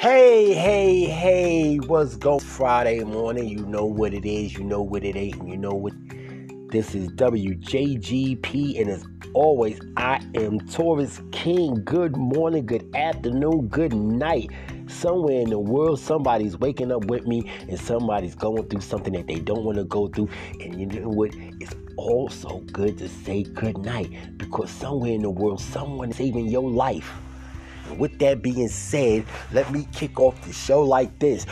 Hey, what's going Friday morning? You know what it is, you know what it ain't, and you know what. This is WJGP, and as always, I am Taurus King. Good morning, good afternoon, good night. Somewhere in the world, somebody's waking up with me, and somebody's going through something that they don't want to go through. And you know what? It's also good to say good night, because somewhere in the world, someone is saving your life. And with that being said, let me kick off the show like this.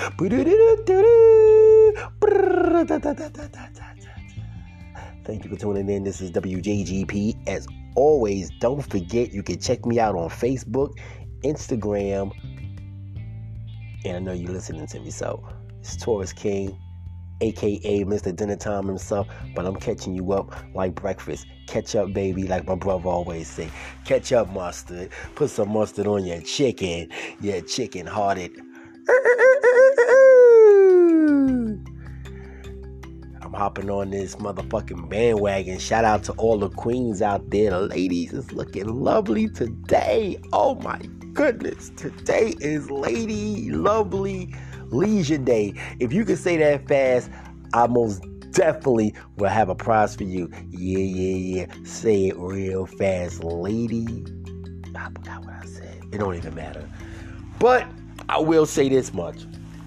Thank you for tuning in. This is WJGP. As always, don't forget you can check me out on Facebook, Instagram, and I know you're listening to me, so it's Taurus King, a.k.a. Mr. Dinner Time himself, but I'm catching you up like breakfast. Catch up, baby, like my brother always say. Catch up, mustard. Put some mustard on your chicken-hearted. I'm hopping on this motherfucking bandwagon. Shout out to all the queens out there. The ladies is looking lovely today. Oh my goodness. Today is Lady Lovely Leisure Day. If you can say that fast, I most definitely will have a prize for you. Yeah. Say it real fast, lady. I forgot what I said. It don't even matter. But I will say this much.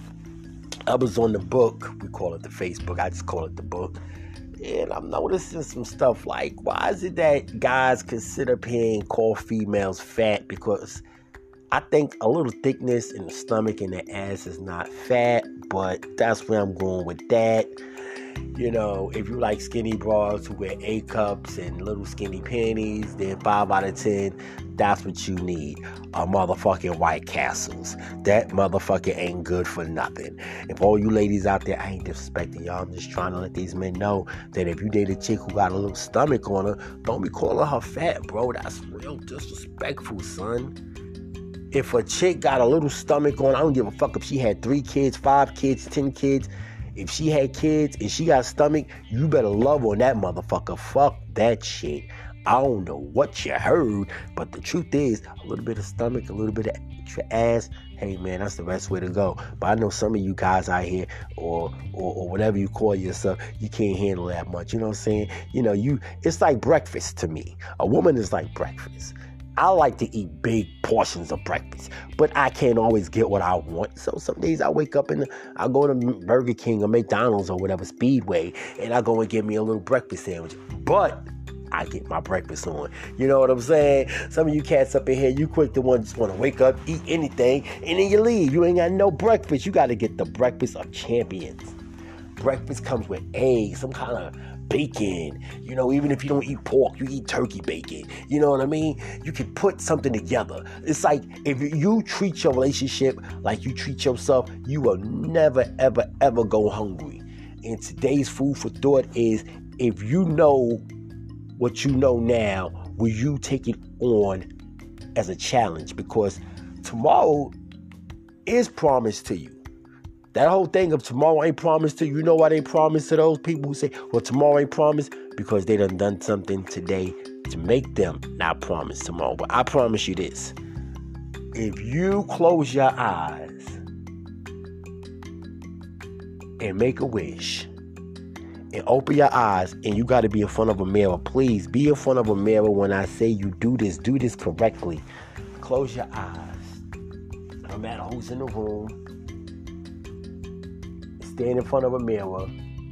I was on the book. We call it the Facebook. I just call it the book. And I'm noticing some stuff like, why is it that guys consider call females fat? Because I think a little thickness in the stomach and the ass is not fat, but that's where I'm going with that. You know, if you like skinny bras who wear A cups and little skinny panties, then 5 out of 10, that's what you need. A motherfucking White Castles. That motherfucker ain't good for nothing. If all you ladies out there, I ain't disrespecting y'all. I'm just trying to let these men know that if you date a chick who got a little stomach on her, don't be calling her fat, bro. That's real disrespectful, son. If a chick got a little stomach on, I don't give a fuck if she had 3 kids, 5 kids, 10 kids. If she had kids and she got a stomach, you better love on that motherfucker. Fuck that shit. I don't know what you heard, but the truth is, a little bit of stomach, a little bit of extra ass, hey man, that's the best way to go. But I know some of you guys out here, or whatever you call yourself, you can't handle that much. You know what I'm saying? You know, it's like breakfast to me. A woman is like breakfast. I like to eat big portions of breakfast, but I can't always get what I want. So some days I wake up and I go to Burger King or McDonald's or whatever, Speedway, and I go and get me a little breakfast sandwich. But I get my breakfast on. You know what I'm saying? Some of you cats up in here, you quick to just want to wake up, eat anything, and then you leave. You ain't got no breakfast. You got to get the breakfast of champions. Breakfast comes with eggs, some kind of bacon. You know, even if you don't eat pork, you eat turkey bacon. You know what I mean? You can put something together. It's like if you treat your relationship like you treat yourself, you will never, ever, ever go hungry. And today's food for thought is, if you know what you know now, will you take it on as a challenge? Because tomorrow is promised to you. That whole thing of tomorrow ain't promised to you. You know why they promised to those people who say, well, tomorrow ain't promised? Because they done something today to make them not promise tomorrow. But I promise you this. If you close your eyes and make a wish and open your eyes, and you got to be in front of a mirror, please be in front of a mirror when I say you do this correctly. Close your eyes. No matter who's in the room. Stand in front of a mirror.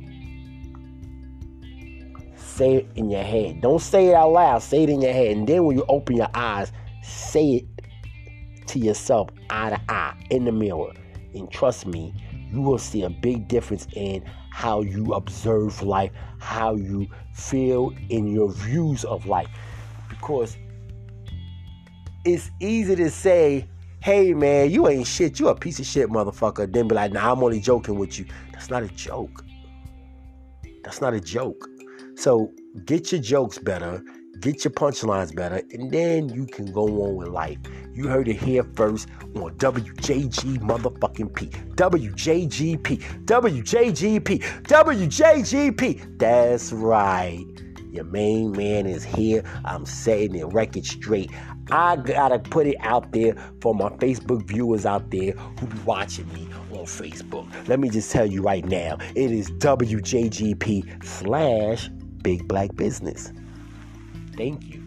Say it in your head. Don't say it out loud. Say it in your head. And then when you open your eyes, say it to yourself, eye to eye, in the mirror. And trust me, you will see a big difference in how you observe life, how you feel in your views of life. Because it's easy to say, hey man, you ain't shit, you a piece of shit, motherfucker. Then be like, nah, I'm only joking with you. That's not a joke. That's not a joke. So get your jokes better, get your punchlines better, and then you can go on with life. You heard it here first on WJG motherfucking P. WJGP. WJGP. WJGP. That's right. Your main man is here. I'm setting the record straight. I gotta put it out there for my Facebook viewers out there who be watching me on Facebook. Let me just tell you right now, it is WJGP/Big Black Business. Thank you.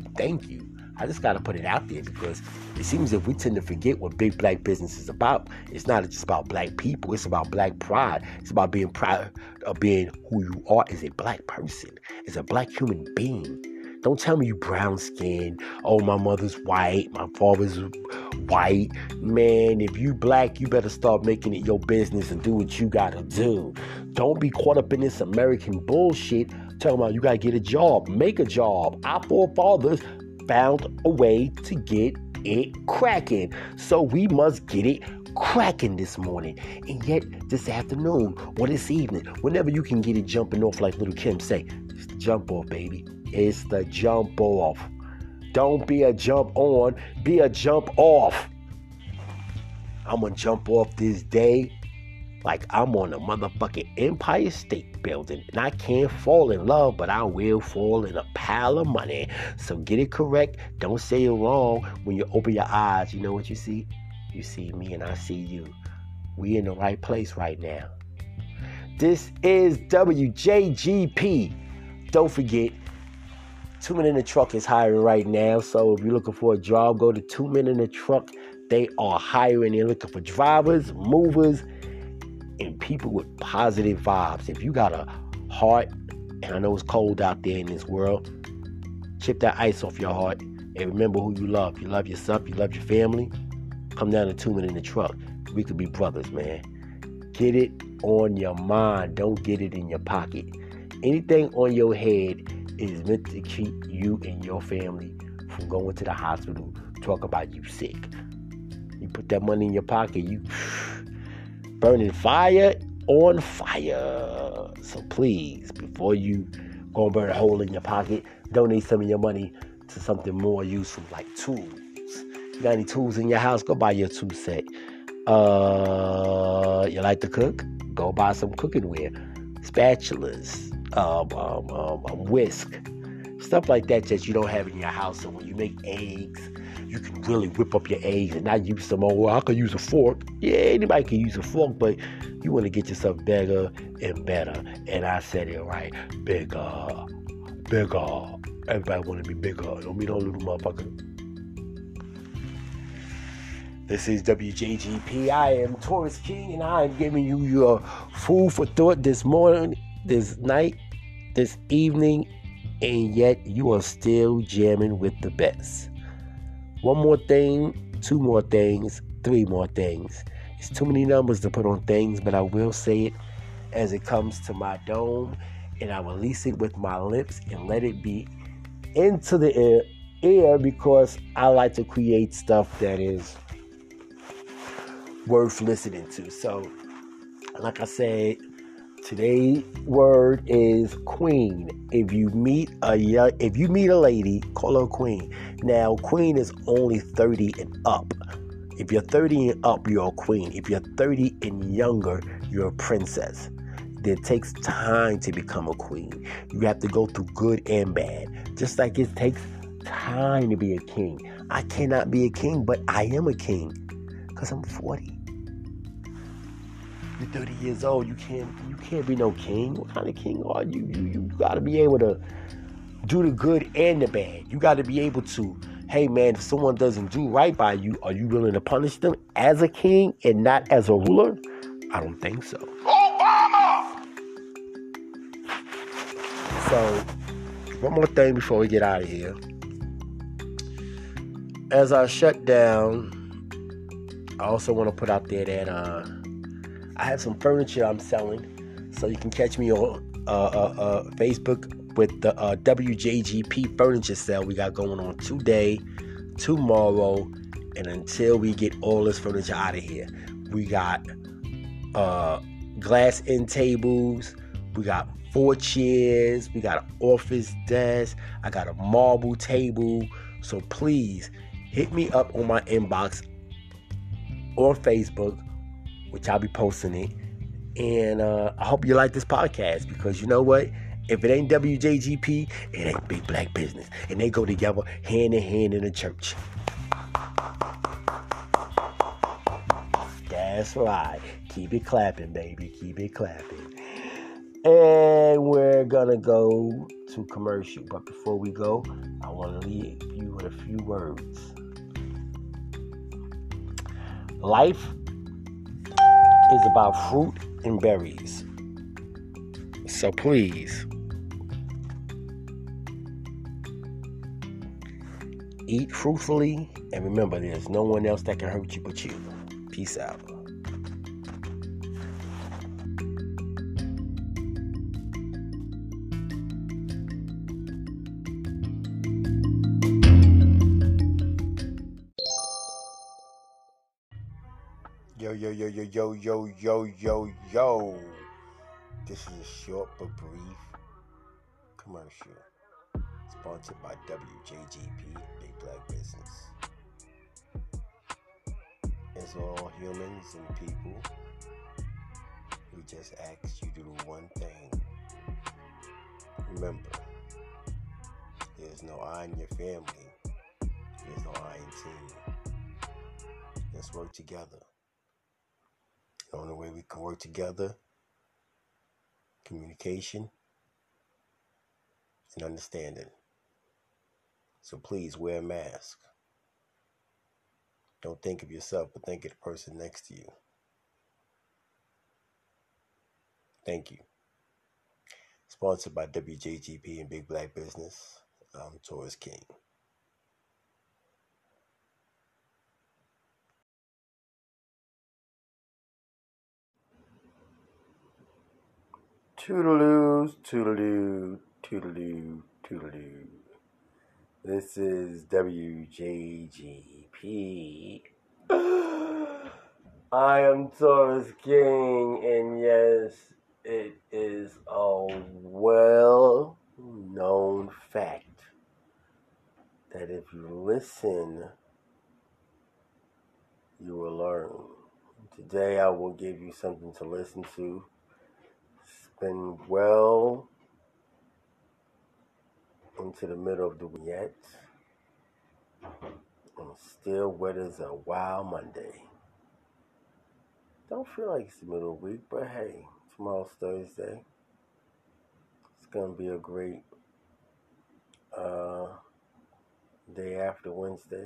I just got to put it out there because it seems that we tend to forget what Big Black Business is about. It's not just about black people. It's about black pride. It's about being proud of being who you are as a black person, as a black human being. Don't tell me you brown skin. Oh, my mother's white. My father's white. Man, if you black, you better start making it your business and do what you got to do. Don't be caught up in this American bullshit talking about you got to get a job. Make a job. Our forefathers found a way to get it cracking. So we must get it cracking this morning. And yet this afternoon or this evening, whenever you can get it jumping off like Little Kim say, it's the jump off, baby. It's the jump off. Don't be a jump on, be a jump off. I'm going to jump off this day like I'm on a motherfucking Empire State Building. And I can't fall in love, but I will fall in a pile of money. So get it correct. Don't say it wrong. When you open your eyes, you know what you see? You see me and I see you. We in the right place right now. This is WJGP. Don't forget, 2 Men in the Truck is hiring right now. So if you're looking for a job, go to 2 Men in the Truck. They are hiring. They're looking for drivers, movers, and people with positive vibes. If you got a heart, and I know it's cold out there in this world, chip that ice off your heart and remember who you love. You love yourself, you love your family. Come down to 2 Men in the Truck. We could be brothers, man. Get it on your mind. Don't get it in your pocket. Anything on your head is meant to keep you and your family from going to the hospital, talk about you sick. You put that money in your pocket, you burning fire on fire. So please, before you go and burn a hole in your pocket, donate some of your money to something more useful like tools. You got any tools in your house? Go buy your tool set. You like to cook? Go buy some cooking ware. Spatulas, whisk, stuff like that you don't have in your house. So when you make eggs, you can really whip up your eggs and not use some I could use a fork. Yeah, anybody can use a fork, but you want to get yourself bigger and better. And I said it right. Bigger. Everybody want to be bigger. Don't be no little motherfucker. This is WJGP. I am Taurus King, and I am giving you your food for thought this morning, this night, this evening, and yet you are still jamming with the best. One more thing, 2 more things, 3 more things. It's too many numbers to put on things, but I will say it as it comes to my dome, and I release it with my lips and let it be into the air because I like to create stuff that is worth listening to. So, like I said, today's word is queen. If you meet a lady, call her queen. Now, queen is only 30 and up. If you're 30 and up, you're a queen. If you're 30 and younger, you're a princess. It takes time to become a queen. You have to go through good and bad. Just like it takes time to be a king. I cannot be a king, but I am a king because I'm 40. You're 30 years old. You can't be no king. What kind of king are you? You got to be able to do the good and the bad. You got to be able to, hey man, if someone doesn't do right by you, are you willing to punish them as a king and not as a ruler? I don't think so. Obama! So, one more thing before we get out of here. As I shut down, I also want to put out there that I have some furniture I'm selling. So you can catch me on Facebook with the WJGP furniture sale we got going on today, tomorrow, and until we get all this furniture out of here. We got glass end tables, we got 4 chairs, we got an office desk, I got a marble table. So please hit me up on my inbox on Facebook, which I'll be posting it. And I hope you like this podcast because you know what? If it ain't WJGP, it ain't Big Black Business. And they go together hand in hand in the church. That's right. Keep it clapping, baby. Keep it clapping. And we're gonna go to commercial. But before we go, I want to leave you with a few words. Life is about fruit and berries. So please, eat fruitfully, and remember, there's no one else that can hurt you but you. Peace out. Yo. This is a short but brief commercial sponsored by WJGP Big Black Business. As all humans and people, we just ask you to do one thing. Remember, there's no I in your family. There's no I in team. Let's work together. The only way we can work together, communication and understanding. So please wear a mask. Don't think of yourself, but think of the person next to you. Thank you. Sponsored by WJGP and Big Black Business. I'm Taurus King. Toodaloo, toodaloo, toodaloo, toodaloo. This is WJGP. I am Taurus King, and yes, it is a well-known fact that if you listen, you will learn. Today I will give you something to listen to. It's been well into the middle of the week yet, and still wet as a wild Monday. Don't feel like it's the middle of the week, but hey, tomorrow's Thursday. It's gonna be a great day after Wednesday,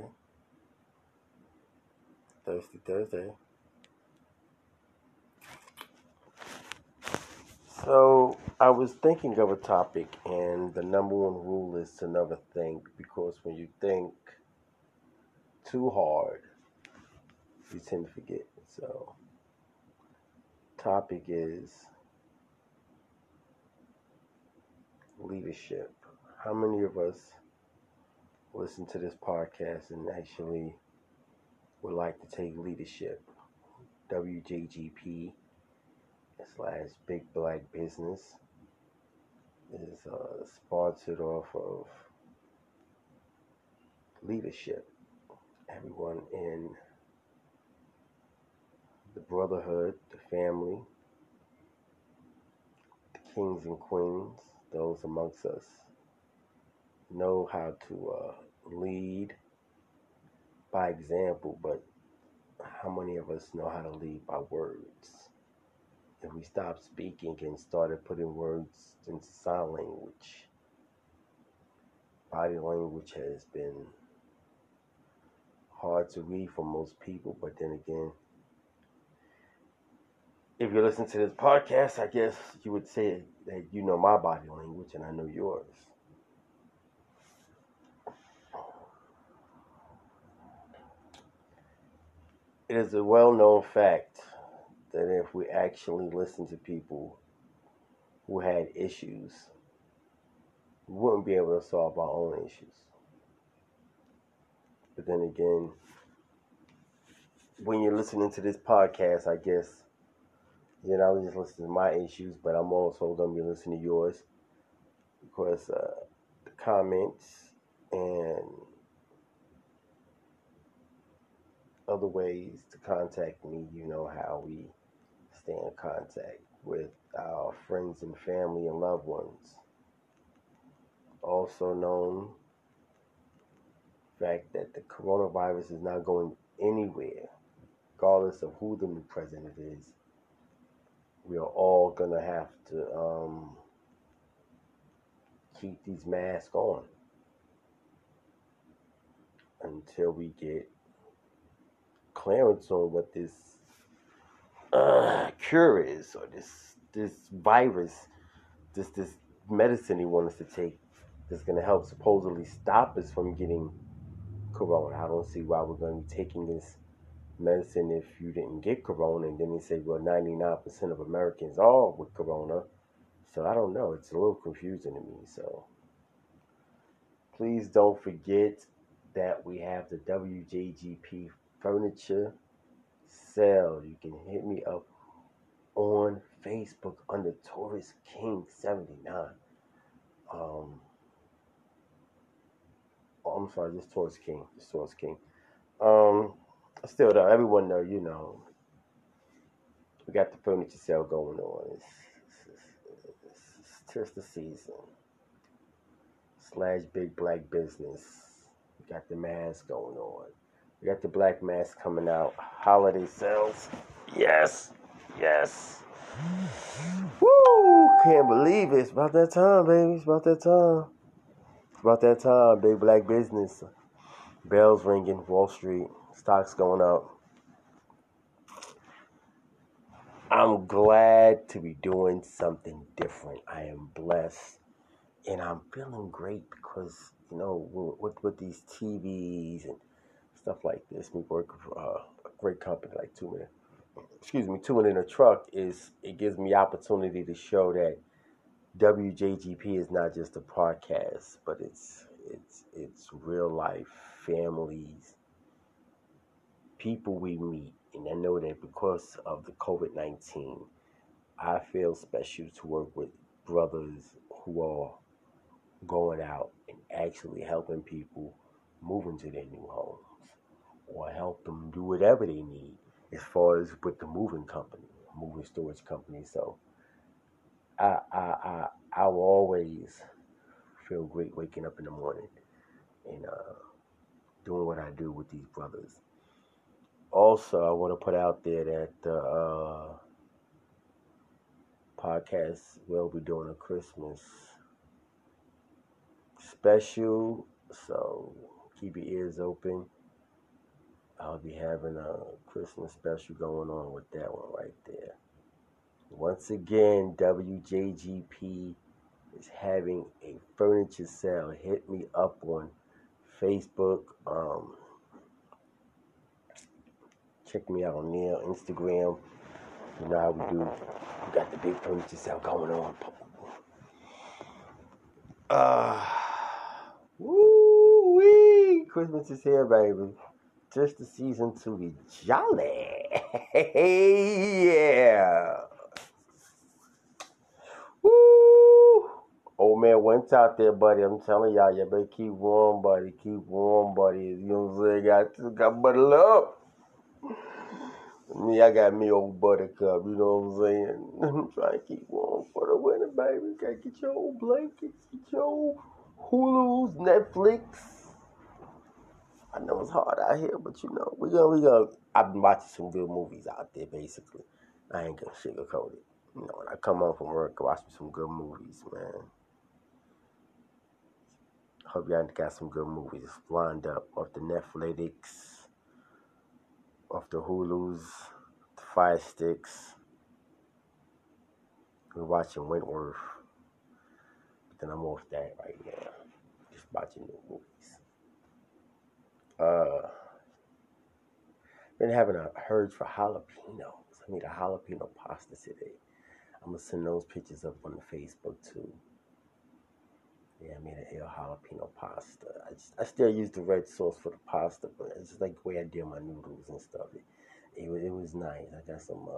Thursday. So I was thinking of a topic, and the number one rule is to never think, because when you think too hard, you tend to forget. So, topic is leadership. How many of us listen to this podcast and actually would like to take leadership? WJGP / Big Black Business is sponsored off of leadership. Everyone in the brotherhood, the family, the kings and queens, those amongst us, know how to lead by example, but how many of us know how to lead by words? If we stopped speaking and started putting words into sign language, body language has been hard to read for most people, but then again, if you listen to this podcast, I guess you would say that you know my body language and I know yours. It is a well-known fact that if we actually listen to people who had issues, we wouldn't be able to solve our own issues. But then again, when you're listening to this podcast, I guess you're not just listening to my issues, but I'm also going to be listening to yours, because the comments and other ways to contact me, you know how we stay in contact with our friends and family and loved ones. also known fact that the coronavirus is not going anywhere, regardless of who the new president is. We are all gonna have to keep these masks on until we get clearance on what this cure is, or this virus, this medicine he wants us to take, that's gonna help supposedly stop us from getting corona. I don't see why we're gonna be taking this medicine if you didn't get corona. And then they say, well, 99% of Americans are with corona. So I don't know. It's a little confusing to me. So please don't forget that we have the WJGP furniture sale. You can hit me up on Facebook under Taurus King 79. Oh, I'm sorry, just Taurus King. Just Taurus King. Still though, everyone know, we got the furniture sale going on. It's just the season. / big black business. We got the mask going on. We got the black mask coming out. Holiday sales. Yes. Yes. Woo! Can't believe it. It's about that time, baby. It's about that time. It's about that time. Big black business. Bells ringing. Wall Street. Stocks going up. I'm glad to be doing something different. I am blessed. And I'm feeling great because, with these TVs and stuff like this, me working for a great company like 2 Minute in a Truck, it gives me opportunity to show that WJGP is not just a podcast, but it's real life, families, people we meet. And I know that because of the COVID-19, I feel special to work with brothers who are going out and actually helping people move into their new homes, or help them do whatever they need as far as with the moving storage company. So I will always feel great waking up in the morning and doing what I do with these brothers. Also, I want to put out there that the podcast will be doing a Christmas special, so keep your ears open. I'll be having a Christmas special going on with that one right there. Once again, WJGP is having a furniture sale. Hit me up on Facebook. Check me out on there, Instagram. You know how we do. We got the big furniture sale going on. Woo-wee! Christmas is here, baby. Just the season to be jolly. Yeah. Woo! Old man went out there, buddy. I'm telling y'all, you better keep warm, buddy. Keep warm, buddy. You know what I'm saying? Got buttle up. Me, I got me old buttercup, you know what I'm saying? I'm trying to keep warm for the winter, baby. You gotta get your old blankets, get your old Hulu's, Netflix. I know it's hard out here, but we gonna. I've been watching some good movies out there, basically. I ain't gonna sugarcoat it. When I come home from work, I watch some good movies, man. Hope y'all got some good movies lined up off the Netflix, off the Hulu's, the Fire Sticks. We're watching Wentworth, but then I'm off that right now. Just watching new movies. Been having a urge for jalapenos. I made a jalapeno pasta today. I'm gonna send those pictures up on the Facebook too. Yeah, I made an ill jalapeno pasta. I still use the red sauce for the pasta, but it's just like the way I did my noodles and stuff. It was nice. I got some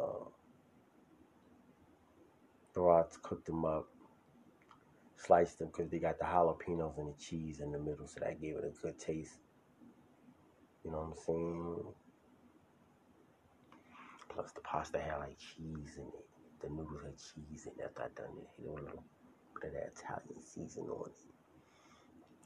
brats, cooked them up, sliced them because they got the jalapenos and the cheese in the middle, so that gave it a good taste. You know what I'm saying? Plus the pasta had like cheese in it. The noodles had cheese in it. After I done it, hit a little bit of that Italian season on it.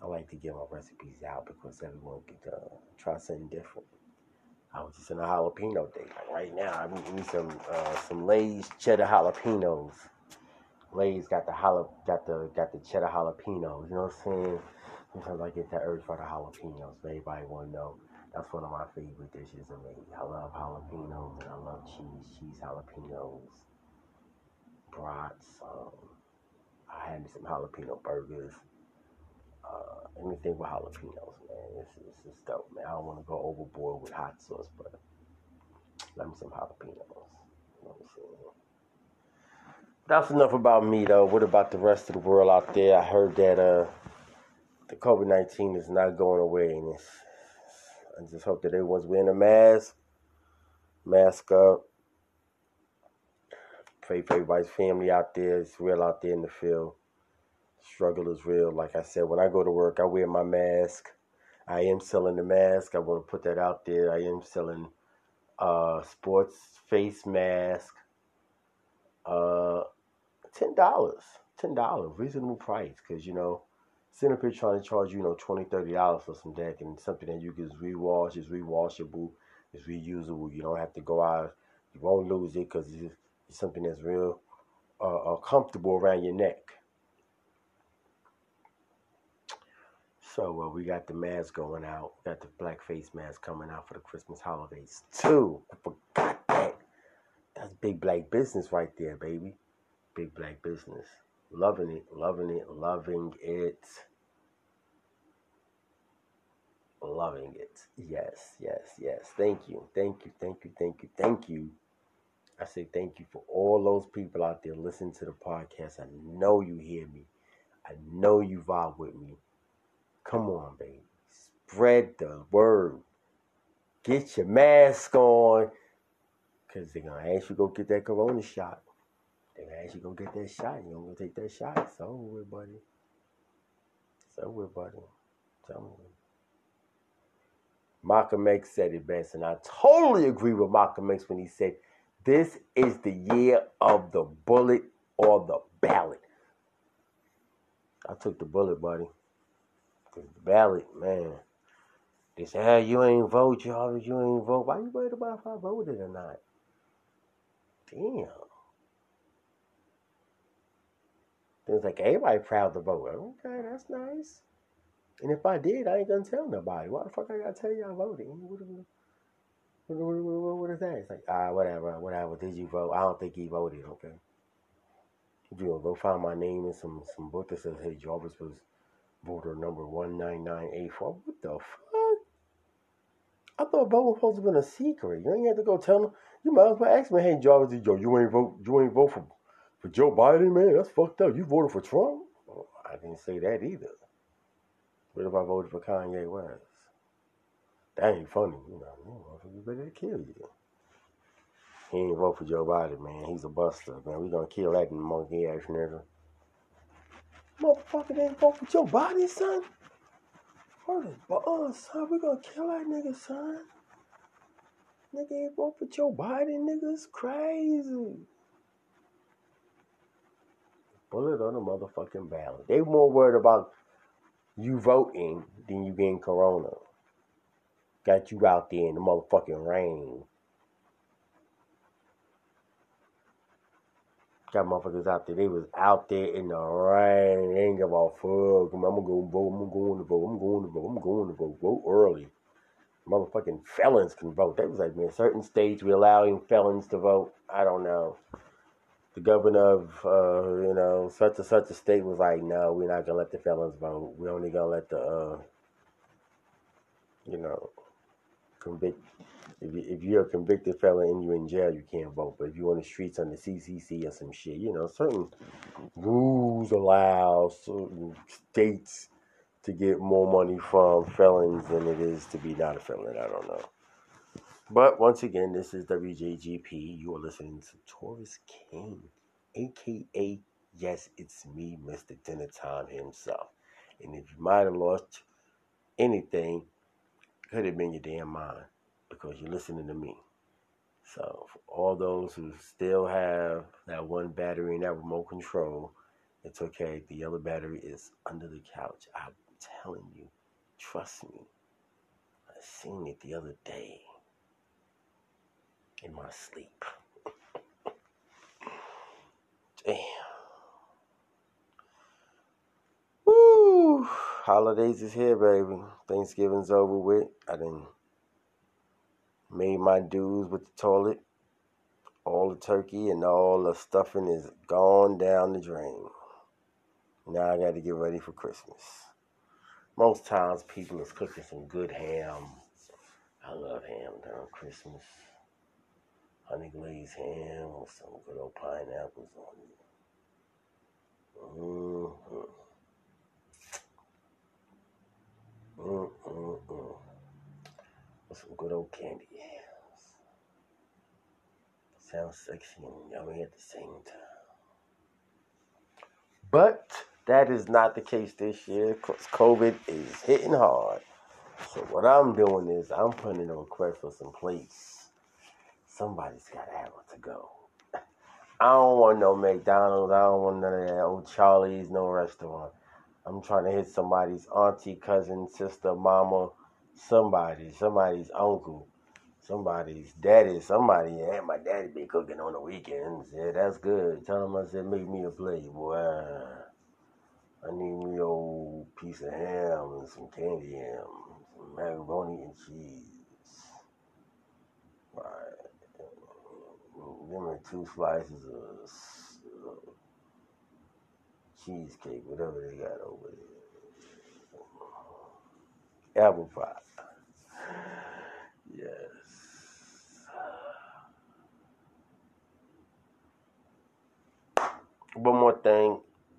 I like to get my recipes out because everyone could try something different. I was just in a jalapeno day. Like right now, I'm eating some Lay's cheddar jalapenos. Lay's got the cheddar jalapenos. You know what I'm saying? Sometimes I get that urge for the jalapenos. But everybody want to know that's one of my favorite dishes of me. I love jalapenos and I love cheese jalapenos, brats. I had me some jalapeno burgers. Anything with jalapenos, man. It's just dope, man. I don't want to go overboard with hot sauce, but let me some jalapenos. You know what I'm saying? That's enough about me, though. What about the rest of the world out there? I heard that the COVID-19 is not going away, and I just hope that everyone's wearing a mask up. Pray for everybody's family out there. It's real out there in the field. Struggle is real. Like I said, when I go to work, I wear my mask. I am selling the mask. I want to put that out there. I am selling sports face mask. $10. $10. Reasonable price. Because, sitting up here trying to charge you, $20, $30 for some deck and something that you can rewash, is rewashable, is reusable. You don't have to go out. You won't lose it because it's something that's real comfortable around your neck. So we got the mask going out. Got the black face mask coming out for the Christmas holidays too. I forgot that. That's big black business right there, baby. Big black business. Loving it, loving it, loving it. Loving it. Yes, yes, yes. Thank you. Thank you, thank you, thank you, thank you. I say thank you for all those people out there listening to the podcast. I know you hear me. I know you vibe with me. Come on, baby. Spread the word. Get your mask on. Because they're going to ask you to go get that corona shot. They're going to ask you to go get that shot. You're going to take that shot. It's over with, buddy. It's over with, buddy. Tell me. Malcolm X said it best. And I totally agree with Malcolm X when he said, this is the year of the bullet or the ballot. I took the bullet, buddy. Because the ballot, man. They say, hey, you ain't vote, y'all. You ain't vote. Why you worried about if I voted or not? Damn. It's like, everybody proud to vote. Okay, that's nice. And if I did, I ain't gonna tell nobody. Why the fuck I gotta tell you I voted? What is that? It's like, whatever. Did you vote? I don't think he voted, okay? You know, go find my name in some book that says, hey, Jarvis was voter number 19984. What the fuck? I thought voting was supposed to have been a secret. You ain't have to go tell them. You might as well ask me, hey, Jarvis, you ain't vote for Joe Biden, man? That's fucked up. You voted for Trump? Well, I didn't say that either. What if I voted for Kanye West? That ain't funny. You better kill you. He ain't vote for Joe Biden, man. He's a buster, man. We gonna kill that monkey ass nigga. Motherfucker didn't vote for Joe Biden, son. Son, we gonna kill that nigga, son. Nigga ain't vote for Joe Biden, nigga. It's crazy. Bullet on the motherfucking ballot. They more worried about you voting than you getting corona. Got you out there in the motherfucking rain. Got motherfuckers out there. They was out there in the rain. They ain't give a fuck. I'm gonna go vote. I'm going to vote. Vote early. Motherfucking felons can vote. They was like, man, certain states we allowing felons to vote. I don't know. The governor of, such and such a state was like, no, we're not gonna let the felons vote. We're only gonna let the, convict. If you're a convicted felon and you're in jail, you can't vote. But if you're on the streets on the CCC or some shit, certain rules allow certain states to get more money from felons than it is to be not a felon. I don't know. But once again, this is WJGP. You are listening to Taurus King, a.k.a. yes, it's me, Mr. Dinner Time himself. And if you might have lost anything, could have been your damn mind because you're listening to me. So for all those who still have that one battery in that remote control, it's okay. The yellow battery is under the couch. I telling you. Trust me. I seen it the other day in my sleep. Damn. Woo! Holidays is here, baby. Thanksgiving's over with. I done made my dues with the toilet. All the turkey and all the stuffing is gone down the drain. Now I got to get ready for Christmas. Most times people is cooking some good ham. I love ham during Christmas. Honey glazed ham with some good old pineapples on it. With some good old candy yams. Sounds sexy and yummy at the same time. But that is not the case this year because COVID is hitting hard. So what I'm doing is I'm putting in a request for some plates. Somebody's got to have it to go. I don't want no McDonald's. I don't want none of that old Charlie's, no restaurant. I'm trying to hit somebody's auntie, cousin, sister, mama, somebody's uncle, somebody's daddy, somebody. Yeah, my daddy be cooking on the weekends. Yeah, that's good. Tell him I said, make me a plate, boy. I need me a old piece of ham and some candy ham, some macaroni and cheese. Right. Give me 2 slices of cheesecake, whatever they got over there. Apple pie. Yes. One more thing.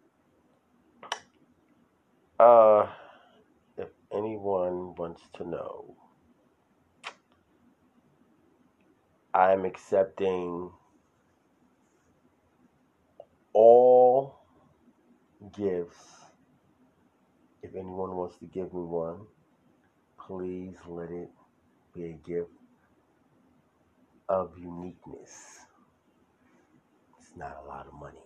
If anyone wants to know, I'm accepting all gifts. If anyone wants to give me one, please let it be a gift of uniqueness. It's not a lot of money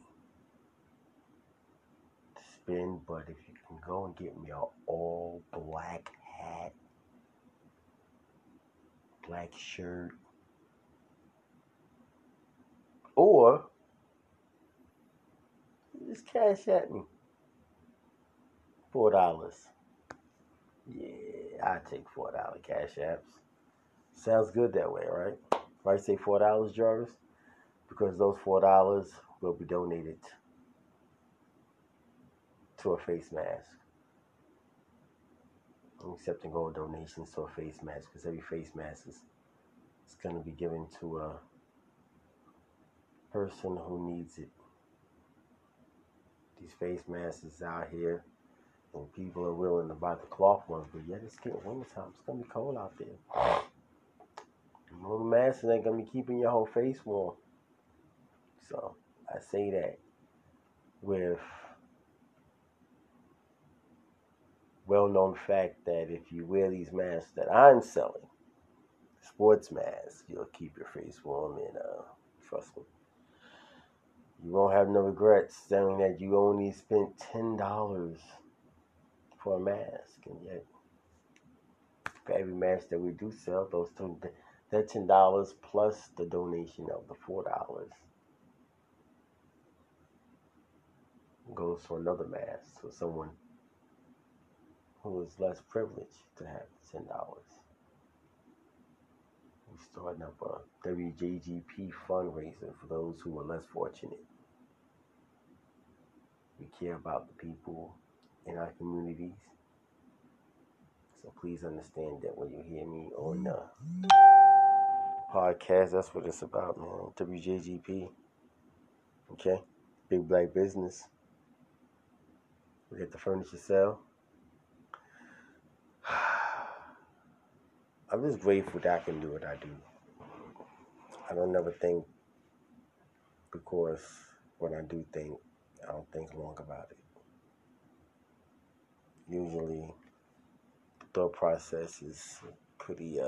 to spend, but if you can go and get me an all black hat, black shirt, or just cash at me $4. Yeah, I take $4 cash apps. Sounds good that way, right? If I say $4, Jarvis, because those $4 will be donated to a face mask. I'm accepting all donations to a face mask because every face mask is going to be given to a person who needs it. These face masks is out here, and people are willing to buy the cloth ones, but yet it's getting wintertime. It's going to be cold out there. No masks ain't going to be keeping your whole face warm. So I say that with well-known fact that if you wear these masks that I'm selling, sports masks, you'll keep your face warm, and trust me, you won't have no regrets saying that you only spent $10 for a mask, and yet for every mask that we do sell, that $10 plus the donation of the $4 goes for another mask for someone who is less privileged to have $10. We're starting up a WJGP fundraiser for those who are less fortunate. We care about the people in our communities. So please understand that when you hear me on the podcast, that's what it's about, man. WJGP. Okay? Big black business. We get the furniture sale. I'm just grateful that I can do what I do. I don't never think, because when I do think, I don't think long about it. Usually, the thought process is pretty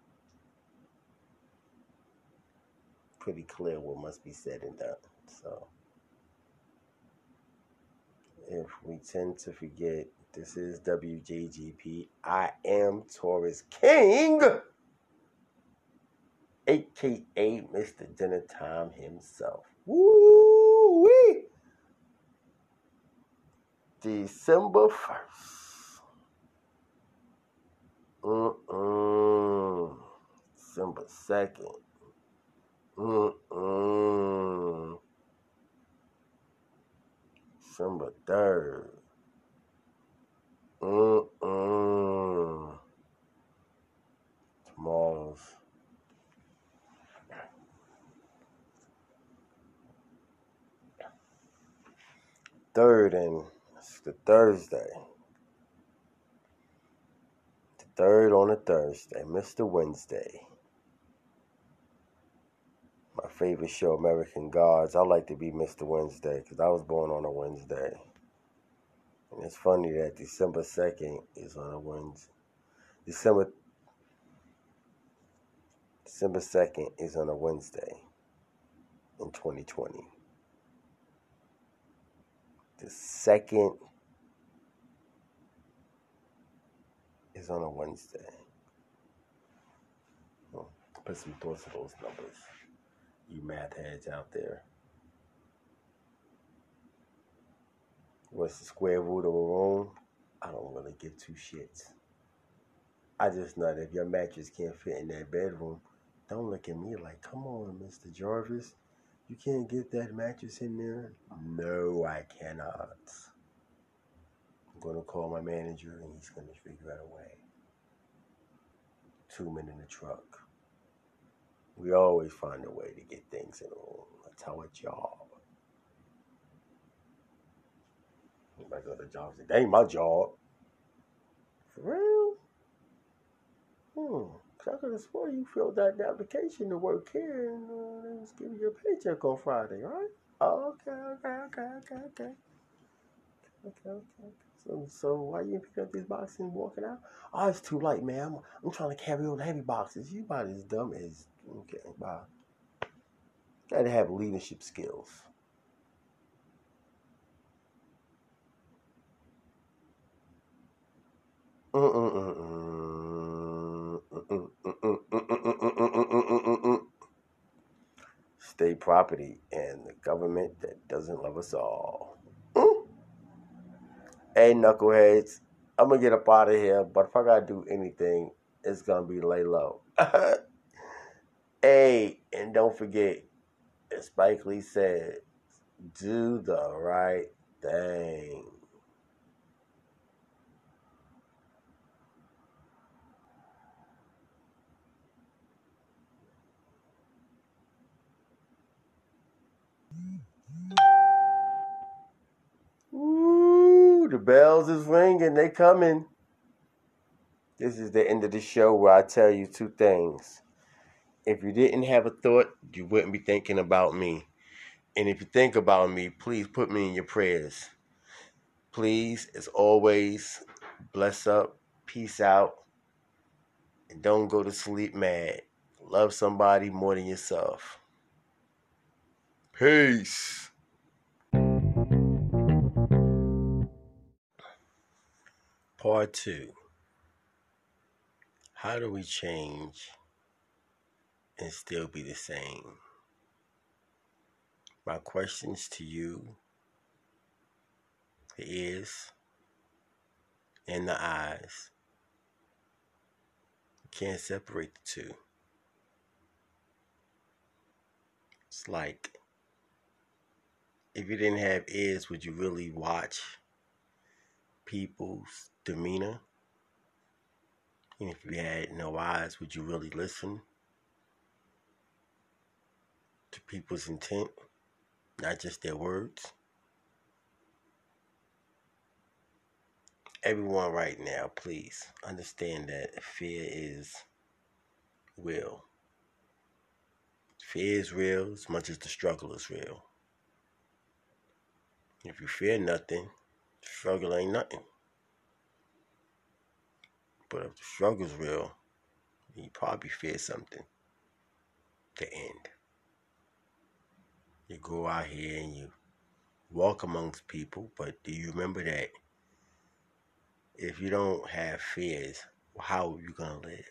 clear what must be said and done. So, if we tend to forget This is WJGP. I am Taurus King, aka Mr. Dinner Time himself. Woo-wee! December 1st. December 2nd. December 3rd. Tomorrow's 3rd, and it's the Thursday. The 3rd on a Thursday. Mr. Wednesday. My favorite show, American Gods. I like to be Mr. Wednesday because I was born on a Wednesday. And it's funny that December 2nd is on a Wednesday. December 2nd is on a Wednesday in 2020. The 2nd is on a Wednesday. Put some thoughts to those numbers, you math heads out there. What's the square root of a room? I don't really give two shits. I just know that if your mattress can't fit in that bedroom, don't look at me like, come on, Mr. Jarvis. You can't get that mattress in there? No, I cannot. I'm going to call my manager and he's going to figure out a way. 2 men in the truck. We always find a way to get things in the room. That's our job. Anybody go to the job and say, that ain't my job. For real? I could have sworn you filled out the application to work here and they was giving you a paycheck on Friday, right? Oh, okay. So why you pick up these boxes and walking out? Oh, it's too light, man. I'm trying to carry all the heavy boxes. You about as dumb as, okay, bye. Gotta have leadership skills. State property and the government that doesn't love us all. Hey, knuckleheads, I'm gonna get up out of here, but if I gotta do anything, it's gonna be lay low. Hey, and don't forget, as Spike Lee said, do the right thing. Woo, the bells is ringing, they coming. This is the end of the show where I tell you two things. If you didn't have a thought, you wouldn't be thinking about me. And if you think about me, please put me in your prayers. Please, as always, bless up, peace out, and don't go to sleep mad. Love somebody more than yourself. Peace. Part 2. How do we change and still be the same? My questions to you, the ears and the eyes. You can't separate the two. It's like, if you didn't have ears, would you really watch people's demeanor? And if you had no eyes, would you really listen to people's intent, not just their words? Everyone right now, please understand that fear is real. Fear is real as much as the struggle is real. If you fear nothing, the struggle ain't nothing. But if the struggle's real, you probably fear something. The end. You go out here and you walk amongst people, but do you remember that If you don't have fears, how are you gonna live?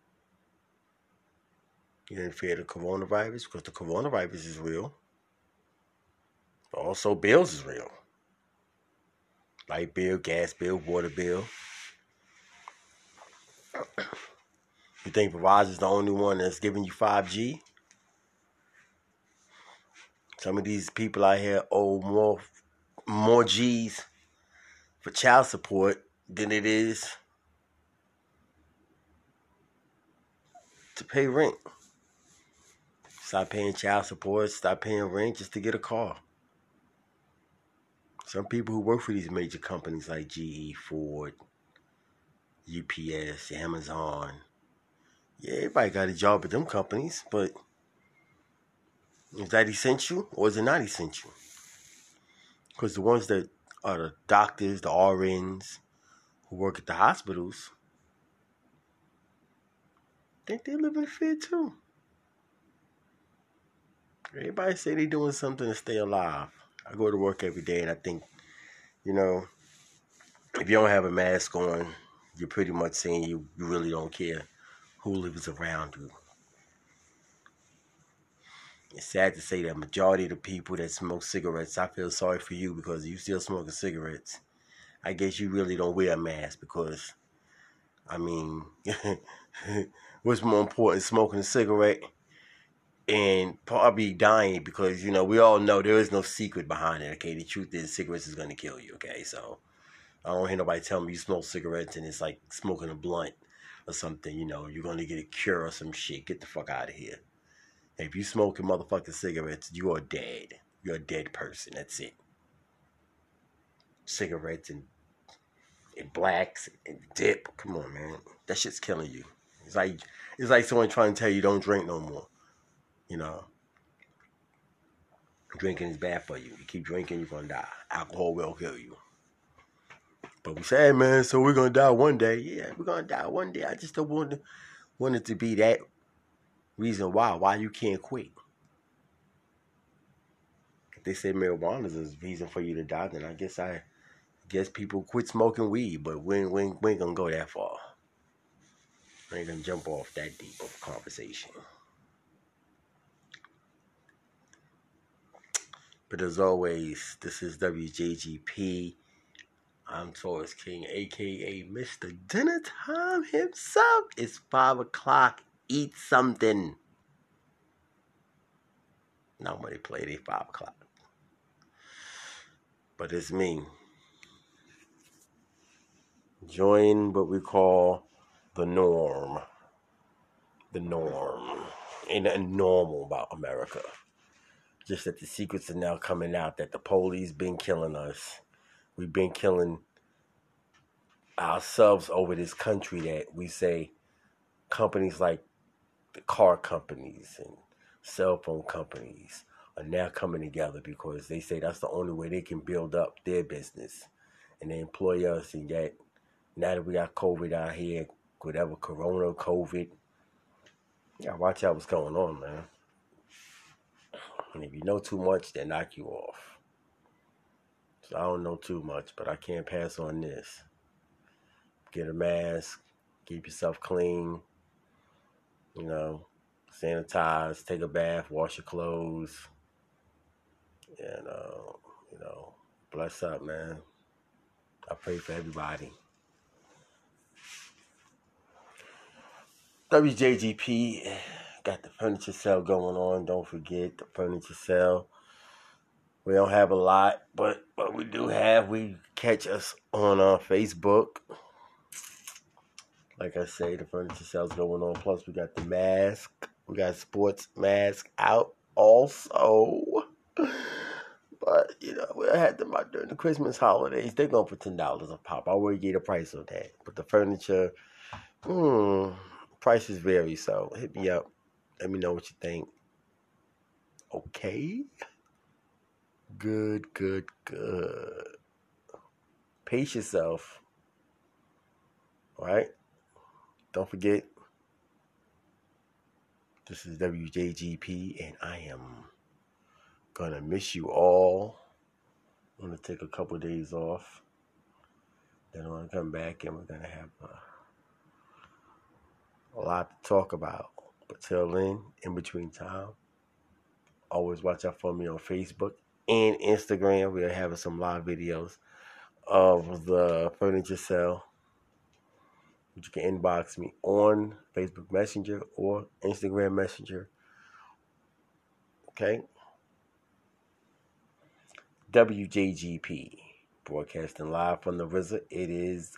You didn't fear the coronavirus because the coronavirus is real. But also, bills is real. Light bill, gas bill, water bill. You think Verizon's the only one that's giving you 5G? Some of these people out here owe more G's for child support than it is to pay rent. Stop paying child support, stop paying rent just to get a car. Some people who work for these major companies like GE, Ford, UPS, Amazon. Yeah, everybody got a job at them companies, but is that essential or is it not essential? Because the ones that are the doctors, the RNs, who work at the hospitals, think they live in fear too. Everybody say they doing something to stay alive. I go to work every day and I think, if you don't have a mask on, you're pretty much saying you really don't care who lives around you. It's sad to say that majority of the people that smoke cigarettes, I feel sorry for you because you still smoking cigarettes. I guess you really don't wear a mask because, what's more important, smoking a cigarette and probably dying because, we all know there is no secret behind it, okay? The truth is cigarettes is going to kill you, okay? So I don't hear nobody tell me you smoke cigarettes and it's like smoking a blunt or something, you're going to get a cure or some shit. Get the fuck out of here. If you smoking motherfucking cigarettes, you are dead. You're a dead person. That's it. Cigarettes and blacks and dip. Come on, man. That shit's killing you. It's like someone trying to tell you don't drink no more. Drinking is bad for you. You keep drinking, you're gonna die. Alcohol will kill you. But we say, hey, man, so we're gonna die one day. Yeah, we're gonna die one day. I just don't want it to be that reason why you can't quit. If they say marijuana is a reason for you to die, then I guess people quit smoking weed, but we ain't gonna go that far. We ain't gonna jump off that deep of a conversation. But as always, this is WJGP. I'm Taurus King, aka Mr. Dinner Time himself. It's 5 o'clock. Eat something. Nobody played at 5 o'clock. But it's me. Join what we call the norm. The norm. Ain't nothing normal about America. Just that the secrets are now coming out that the police been killing us. We've been killing ourselves over this country that we say companies like the car companies and cell phone companies are now coming together because they say that's the only way they can build up their business. And they employ us, and yet now that we got COVID out here, whatever, corona, COVID, you gotta watch out what's going on, man. And if you know too much, they knock you off. So I don't know too much, but I can't pass on this. Get a mask, keep yourself clean, sanitize, take a bath, wash your clothes, and, bless up, man. I pray for everybody. WJGP got the furniture sale going on. Don't forget the furniture sale. We don't have a lot, but what we do have, we catch us on Facebook. Like I say, the furniture sale's going on. Plus, we got the mask. We got sports mask out also. But, we had them out during the Christmas holidays. They're going for $10 a pop. I already gave a price on that. But the furniture, prices vary. So hit me up. Let me know what you think. Okay? Good. Pace yourself. All right? Don't forget, this is WJGP, and I am gonna miss you all. I'm gonna take a couple of days off. Then I'm going to come back and we're going to have a lot to talk about. But till then, in between time, always watch out for me on Facebook and Instagram. We're having some live videos of the furniture sale. You can inbox me on Facebook Messenger or Instagram Messenger. Okay? WJGP, broadcasting live from the RZA. It is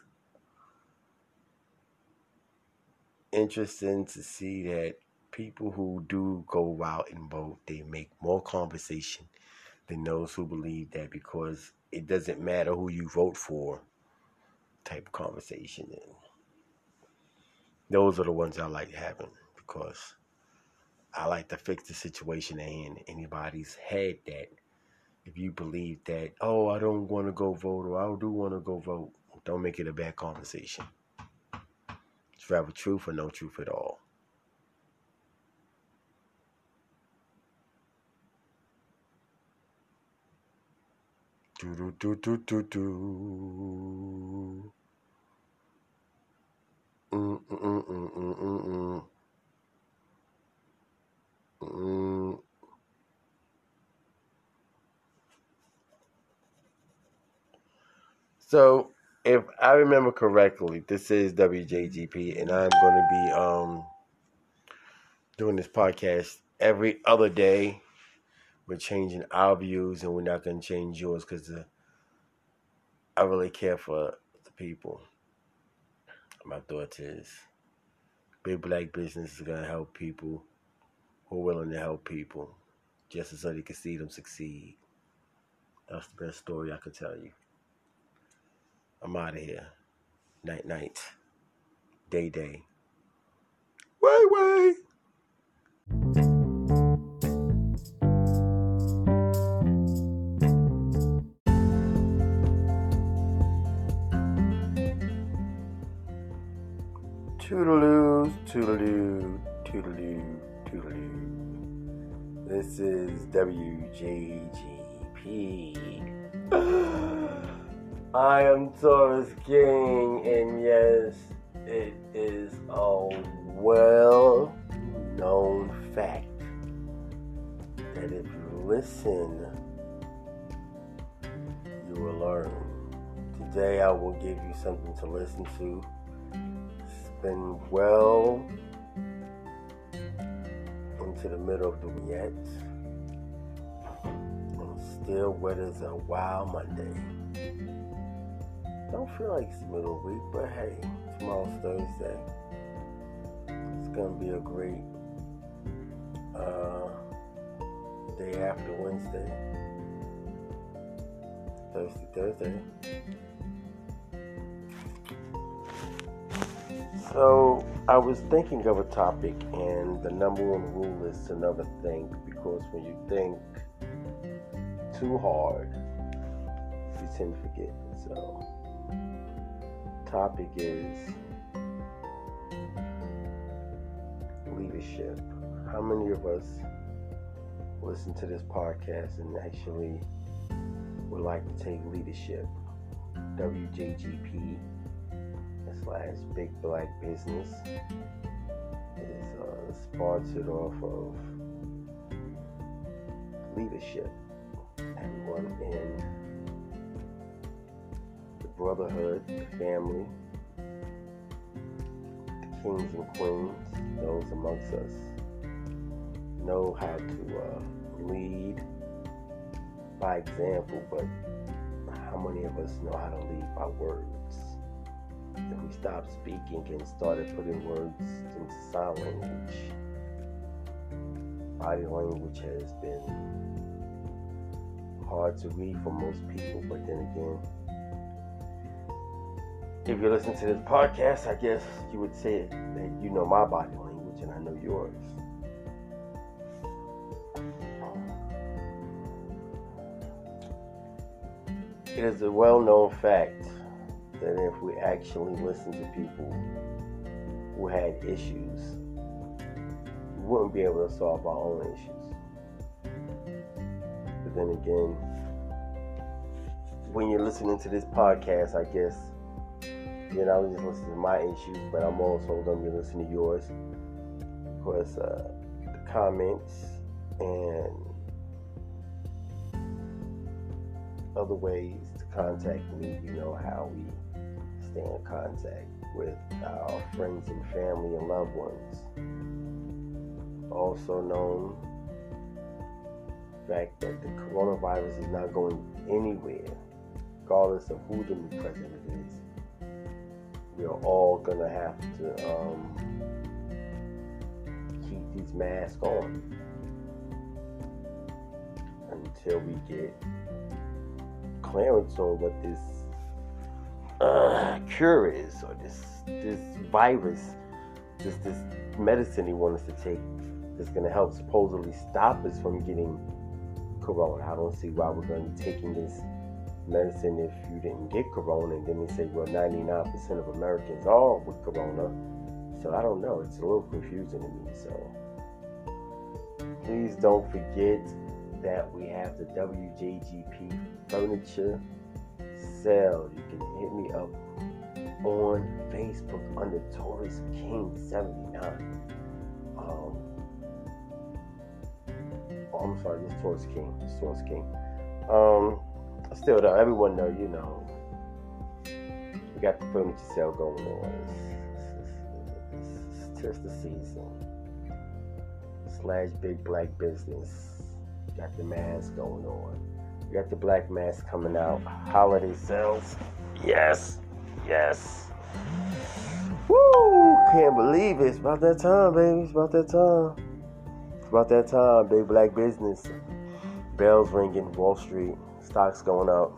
interesting to see that people who do go out and vote, they make more conversation than those who believe that because it doesn't matter who you vote for type of conversation. And those are the ones I like having because I like to fix the situation in anybody's head that if you believe that, oh, I don't want to go vote or I do want to go vote, don't make it a bad conversation. It's rather truth or no truth at all. Do do do do do do. Mm mm mm mm mm mm mm. So, if I remember correctly, this is WJGP, and I'm going to be doing this podcast every other day. We're changing our views, and we're not going to change yours because I really care for the people. My thought is, big black business is going to help people who are willing to help people, just so they can see them succeed. That's the best story I could tell you. I'm out of here. Night, night. Day, day. Way, way. Toodaloo, toodaloo, toodaloo, toodaloo. This is WJGP. I am Taurus King, and yes, it is a well-known fact that if you listen, you will learn. Today I will give you something to listen to. It's been well into the middle of the week yet. And still wet as a wild Monday. Don't feel like it's the middle of the week, but hey, tomorrow's Thursday. It's gonna be a great day after Wednesday. Thursday. So I was thinking of a topic, and the number one rule is to never think, because when you think too hard, you tend to forget. So topic is leadership. How many of us listen to this podcast and actually would like to take leadership? WJGP / Big Black Business is sponsored off of leadership. Everyone in the brotherhood, the family, the kings and queens, those amongst us know how to lead by example, but how many of us know how to lead by words? If we stopped speaking and started putting words into sign language, body language has been hard to read for most people, but then again, if you listen to this podcast, I guess you would say that you know my body language and I know yours. It is a well-known fact that if we actually listen to people who had issues, we wouldn't be able to solve our own issues. then again, when you're listening to this podcast, I guess You know, I was just listening to my issues, but I'm also going to be listening to yours. Of course, the comments and other ways to contact me. You know how we stay in contact with our friends and family and loved ones. Also known the fact that the coronavirus is not going anywhere, regardless of who the new president is. We're all gonna have to keep these masks on until we get clearance on what this cure is, or this virus, this medicine he wants us to take that's gonna help supposedly stop us from getting corona. I don't see why we're gonna be taking this medicine if you didn't get corona, and then they say, well, 99% of Americans are with corona. So I don't know, it's a little confusing to me. So please don't forget that we have the WJGP furniture sale. You can hit me up on Facebook under Taurus King 79. I'm sorry, this Taurus King. Still though, everyone know, you know, we got the furniture sale going on. It's just the season. / big black business. Got the mask going on. We got the black mask coming out. Holiday sales. Yes. Woo! Can't believe it. It's about that time, baby. It's about that time. Big black business. Bells ringing. Wall Street. Stocks going up.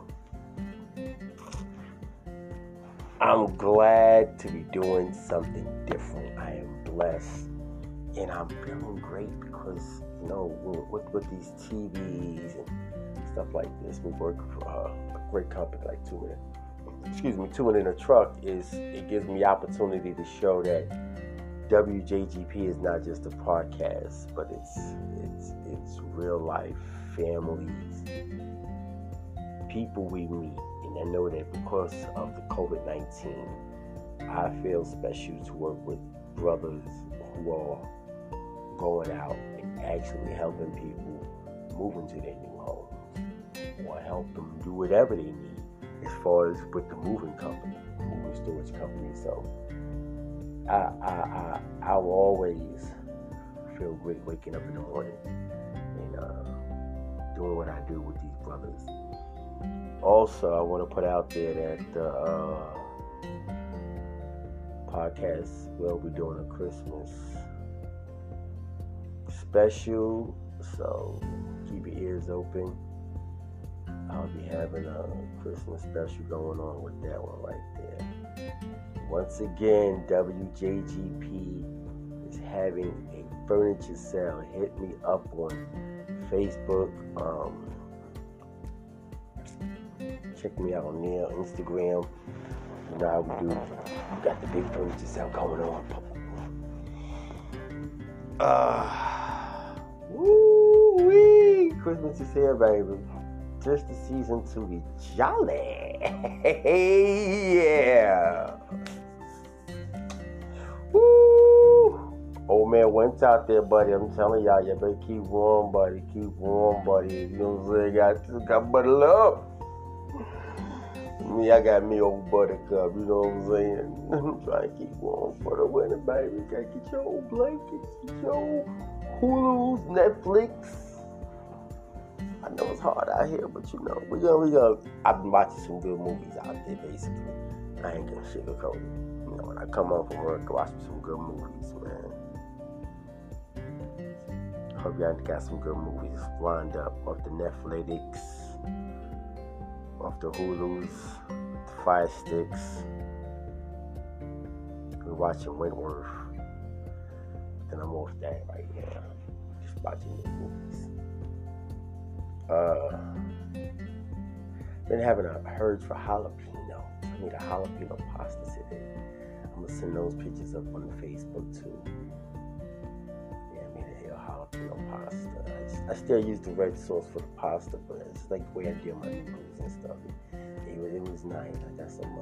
I'm glad to be doing something different. I am blessed. And I'm feeling great because, you know, with these TVs and stuff like this, we work for a great company like 2 Minute in a Truck. It gives me opportunity to show that WJGP is not just a podcast, but it's real life, families, people we meet. And I know that because of the COVID-19, I feel special to work with brothers who are going out and actually helping people move into their new homes, or help them do whatever they need as far as with the moving storage company. So I will always feel great waking up in the morning and doing what I do with these brothers. Also, I want to put out there that the podcast will be doing a Christmas special, so keep your ears open. I'll be having a Christmas special going on with that one right there. Once again, WJGP is having a furniture sale. Hit me up on Facebook. Check me out on there, Instagram. You know how we do. We got the big furniture sale going on. Woo-wee! Christmas is here, baby. Just the season to be jolly. Yeah. Woo! Old man went out there, buddy. I'm telling y'all, you better keep warm, buddy. Keep warm, buddy. You know what I'm saying? Got buttered up. Me, I got me old buttercup, you know what I'm saying? I'm trying to keep warm for the winter, baby. You gotta get your old blankets, get your old Hulu's, Netflix. I know it's hard out here, but you know, we gonna. I've been watching some good movies out there, basically. I ain't gonna sugarcoat it. You know, when I come home from work, I watch some good movies, man. Hope y'all got some good movies lined up off the Netflix, off the Hulu's, the Fire Sticks. We're watching Wentworth. Then I'm off that right now. Just watching the movies. Been having a urge for jalapeno. I need a jalapeno pasta today. I'm gonna send those pictures up on the Facebook too. Yeah, I made a jalapeno pasta. I just I still use the red sauce for the pasta, but it's like the way I did my noodles and stuff. It was nice. I got some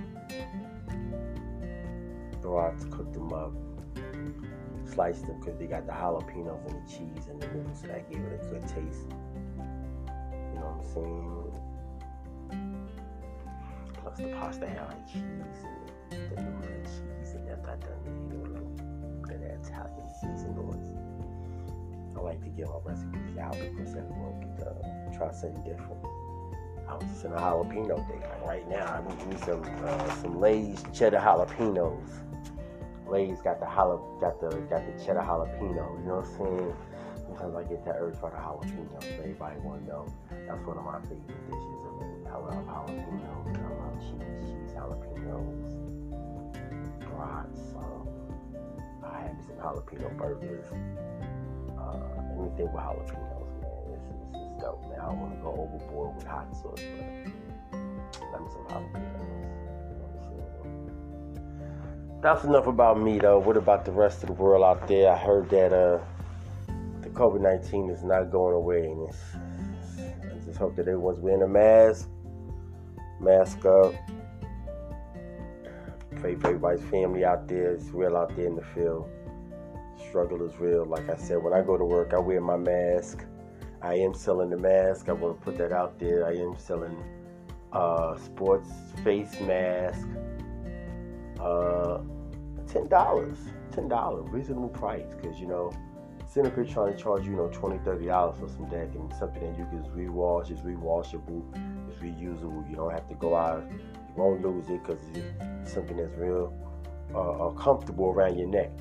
broths, cooked them up, sliced them because they got the jalapenos and the cheese and the noodles, so that gave it a good taste. You know what I'm saying? Plus the pasta had like cheese and the noodles and cheese, and after I done it, you know, put that Italian season on it. I like to give my recipes out because everyone can try something different. I was just in a jalapeno day. Like right now, I'm eating some Lay's cheddar jalapenos. Lay's got the cheddar jalapeno. You know what I'm saying? Sometimes I get that urge for the jalapenos. Everybody want to know. That's one of my favorite dishes. I love jalapenos. I love cheese jalapenos, brats. I had some jalapeno burgers. Anything with jalapenos, man. This is dope, man. I don't want to go overboard with hot sauce, but let me some jalapenos. You know what I'm saying? That's enough about me, though. What about the rest of the world out there? I heard that the COVID-19 is not going away, and I just hope that everyone's wearing a mask up. Pray for everybody's family out there. It's real out there in the field. Struggle is real. Like I said, when I go to work, I wear my mask. I am selling the mask. I want to put that out there. I am selling sports face mask. $10, reasonable price. Because Cineplex trying to charge you, $20, $30 for some deck and something that you can rewash. It's rewashable. It's reusable. You don't have to go out. You won't lose it because it's something that's real comfortable around your neck.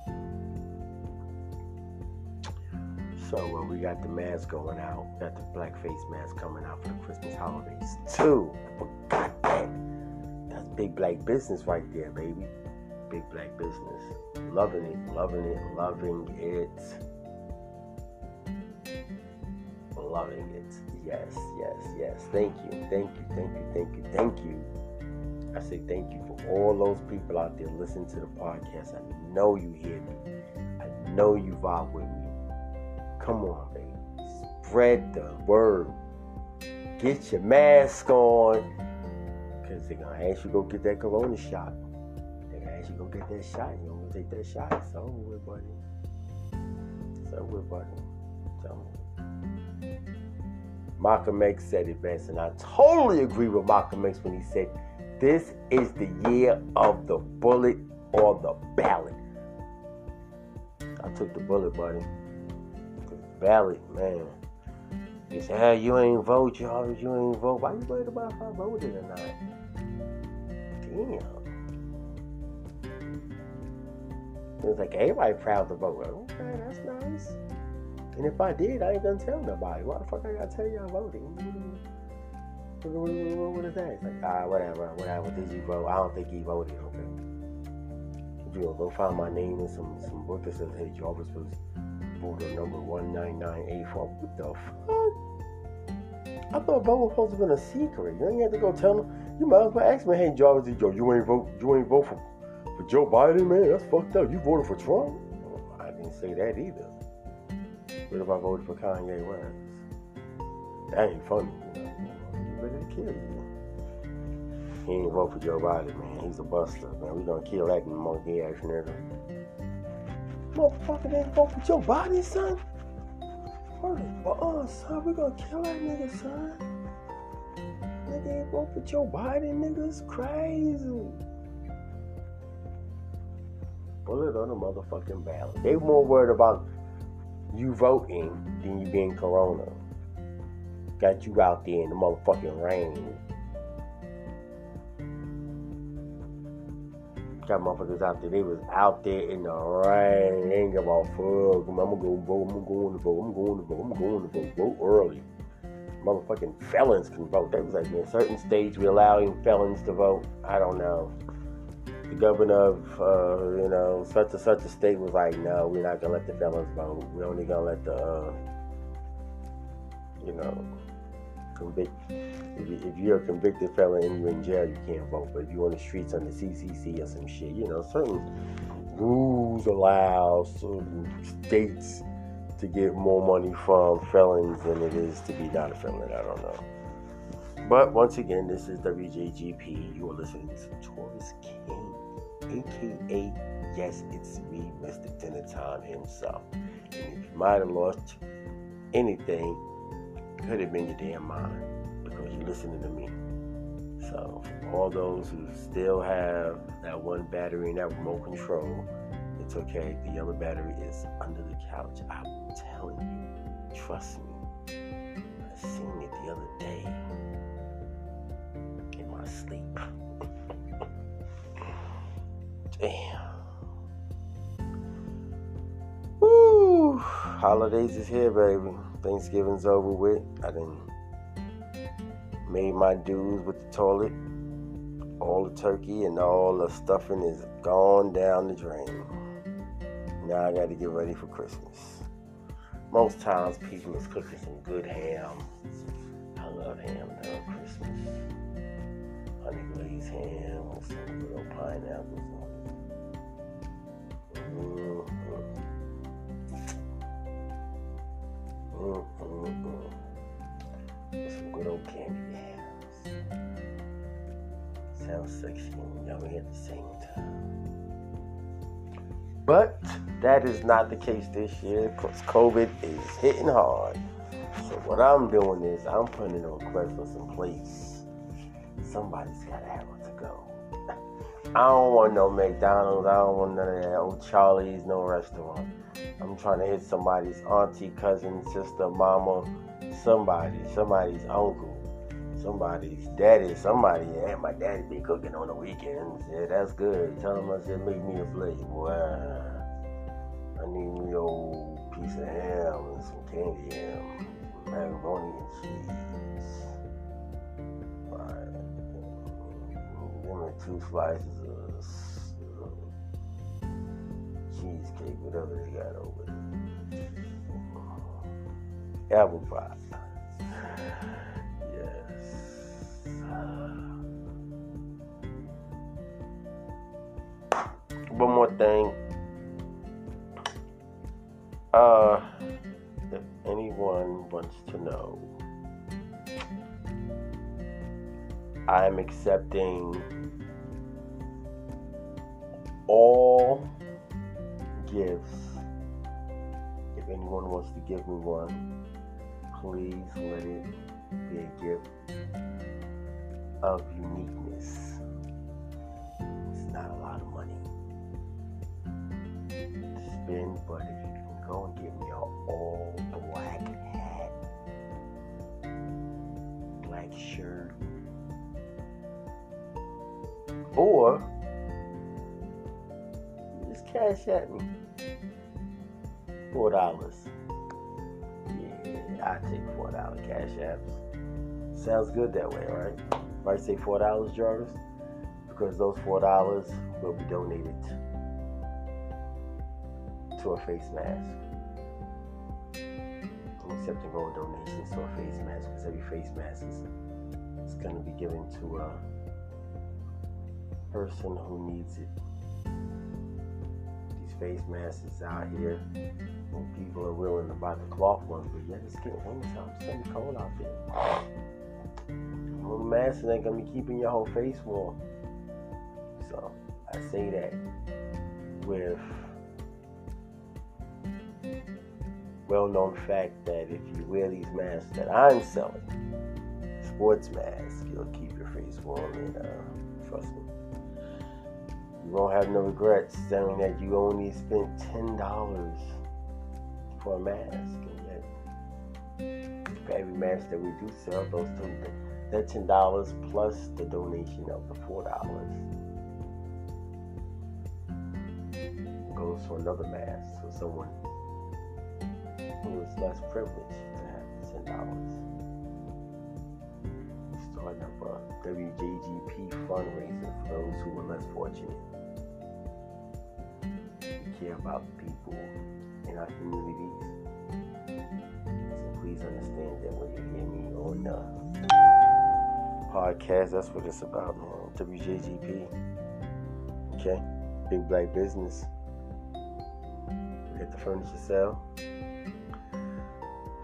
So we got the mask going out. Got the black face mask coming out for the Christmas holidays too. I forgot that. That's big black business right there, baby. Big black business. Loving it. Loving it. Yes. Thank you. I say thank you for all those people out there listening to the podcast. I know you hear me. I know you vibe with me. Come on, baby. Spread the word. Get your mask on. Because they're going to ask you to go get that corona shot. They're going to ask you to go get that shot. You don't want to take that shot. It's over with, buddy. Malcolm X said it best, and I totally agree with Malcolm X when he said, this is the year of the bullet or the ballot. I took the bullet, buddy. Ballot, man. You say, hey, you ain't vote, you ain't vote. Why you worried about if I voted or not? Damn. It's like everybody proud to vote. Okay, that's nice. And if I did, I ain't gonna tell nobody. Why the fuck I gotta tell you I voted? What is that? It's like, whatever. Did you vote? I don't think he voted, okay. You know, go find my name in some book that says, hey, Jarvis was voter number 19984. What the fuck? I thought voting was supposed to have been a secret. You ain't have to go tell them. You might as well ask me, hey, Jarvis, you ain't vote for Joe Biden, man? That's fucked up. You voted for Trump? Well, I didn't say that either. What if I voted for Kanye West? That ain't funny, You ready to kill you. He ain't vote for Joe Biden, man. He's a buster, man. We gonna kill that monkey ass nigga. Motherfucker didn't vote for Joe Biden, son. Son, we gonna kill that nigga, son. Nigga ain't vote for Joe Biden, nigga. It's crazy. Bullet on the motherfucking ballot. They more worried about you voting than you being corona. Got you out there in the motherfucking rain. Got motherfuckers out there. They was out there in the rain. They ain't give a fuck. I'm gonna go vote. I'm going to vote. Vote early. Motherfucking felons can vote. They was like, in certain states we allowing felons to vote. I don't know. The governor of such a state was like, no, we're not gonna let the felons vote. We're only gonna let the convict. If you're a convicted felon and you're in jail, you can't vote. But if you're on the streets on the CCC or some shit, certain rules allow certain states to get more money from felons than it is to be not a felon. I don't know. But once again, this is WJGP. You are listening to Taurus King, aka, yes, it's me, Mr. Dinner Time himself. And if you might have lost anything, it could have been your damn mind because you're listening to me. So, for all those who still have that one battery and that remote control, it's okay. The yellow battery is under the couch. I'm telling you, trust me. I seen it the other day in my sleep. Damn. Woo! Holidays is here, baby. Thanksgiving's over with. I done made my dues with the toilet. All the turkey and all the stuffing is gone down the drain. Now I got to get ready for Christmas. Most times people is cooking some good ham. I love ham during Christmas. Honey glazed ham with some good old pineapples. With some good old candy yams. Sounds sexy and yummy at the same time. But that is not the case this year because COVID is hitting hard. So what I'm doing is I'm putting a request for some place. Somebody's got to have it to go. I don't want no McDonald's. I don't want none of that old Charlie's, no restaurant. I'm trying to hit somebody's auntie, cousin, sister, mama, somebody's uncle. Somebody's daddy, somebody, yeah, my daddy be cooking on the weekends. Yeah, that's good. Tell him I said, make me a plate, boy. I need me a old piece of ham and some candy ham, some macaroni and cheese. Right. Give me 2 slices of cheesecake, whatever they got over there. Apple pie. One more thing. If anyone wants to know, I'm accepting all gifts. If anyone wants to give me one, please let it be a gift of uniqueness. It's not a lot of money to spend, but if you can go and give me an all black hat, black shirt, or you just cash at me $4. Yeah, I take $4 cash apps. Sounds good that way, right? If I say $4, Jarvis, because those $4 will be donated to a face mask. I'm accepting all donations to a face mask because every face mask is going to be given to a person who needs it. These face masks out here, and people are willing to buy the cloth ones, but yet it's getting wintertime. It's going to be cold out there. Well, the mask ain't going to be keeping your whole face warm. So I say that with well-known fact that if you wear these masks that I'm selling, sports masks, you'll keep your face warm, and trust me, you won't have no regrets saying that you only spent $10 for a mask, and yet for every mask that we do sell, that $10 plus the donation of the $4 goes for another mask for someone who is less privileged to have $10. We're starting up a WJGP fundraiser for those who are less fortunate. We care about people in our communities. So please understand that when you hear me on the podcast, that's what it's about, man. WJGP. Okay? Big Black Business. We hit the furniture sale.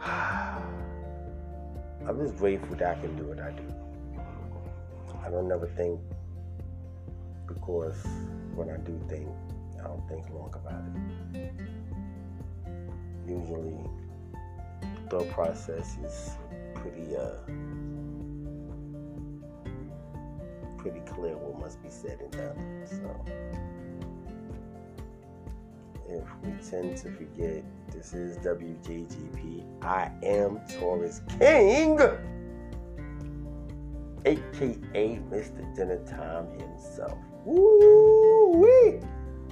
I'm just grateful that I can do what I do. I don't never think, because when I do think, I don't think long about it. Usually, the thought process is pretty clear what must be said and done. So, if we tend to forget, this is WJGP. I am Taurus King, aka Mr. Dinner Time himself. Woo-wee!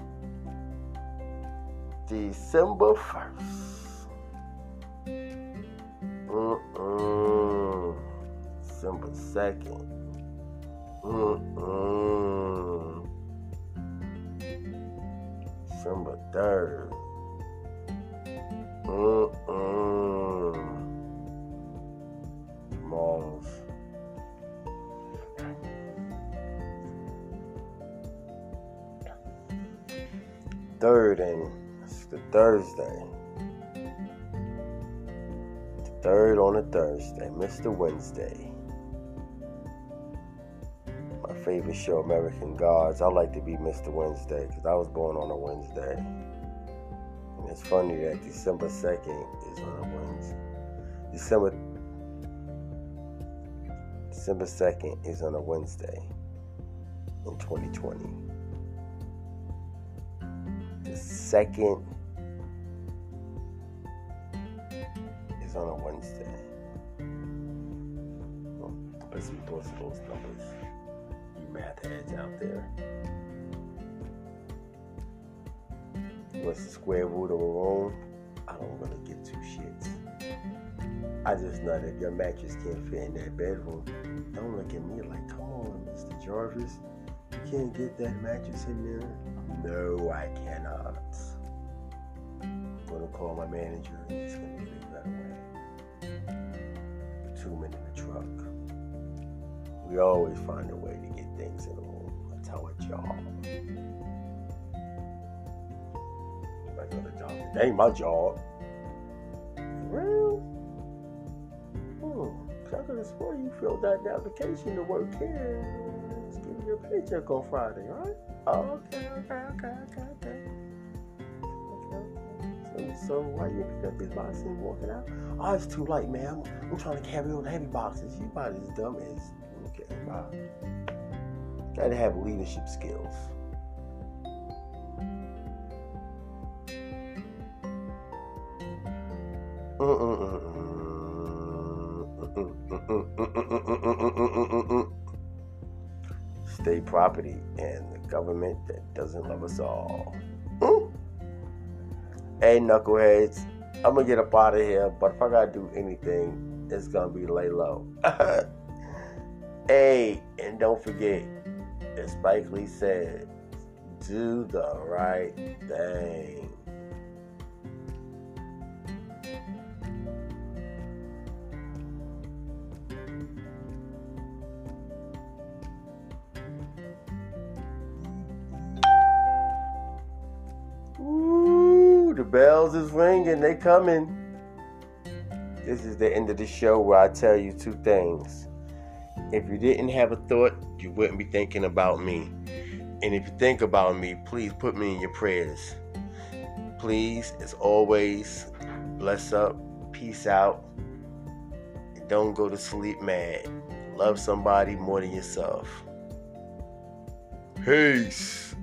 December 1st. December 2nd. December 3rd. Mars. Third, and it's the Thursday. The third on a Thursday, Mr. Wednesday. My favorite show, American Gods. I like to be Mr. Wednesday because I was born on a Wednesday. And it's funny that December 2nd is on a Wednesday. December 2nd is on a Wednesday in 2020. The 2nd is on a Wednesday. Put some thoughts of those numbers. You math heads out there. What's the square root of a room? I don't really give two shits. I just know that your mattress can't fit in that bedroom. Don't look at me like, come on, Mr. Jarvis. You can't get that mattress in there. No, I cannot. I'm going to call my manager and he's going to get it right away. 2 men in the truck. We always find a way to get things in the room. That's how a job. I go to job. It ain't my job. Well, I could have sworn you filled out the application to work here. Let's give you a paycheck on Friday, right? Oh, okay. So why you pick up these boxes and walking out? Oh, it's too late, man. I'm trying to carry all the heavy boxes. You about as dumb as okay, bye. Gotta have leadership skills. State property and the government that doesn't love us all. Hey, knuckleheads, I'm gonna get up out of here, but if I gotta do anything, it's gonna be lay low. Hey, and don't forget, as Spike Lee said, do the right thing. The bells is ringing, they coming. This is the end of the show where I tell you two things. If you didn't have a thought, you wouldn't be thinking about me. And if you think about me, please put me in your prayers. Please, as always, bless up, peace out, and don't go to sleep mad. Love somebody more than yourself. Peace.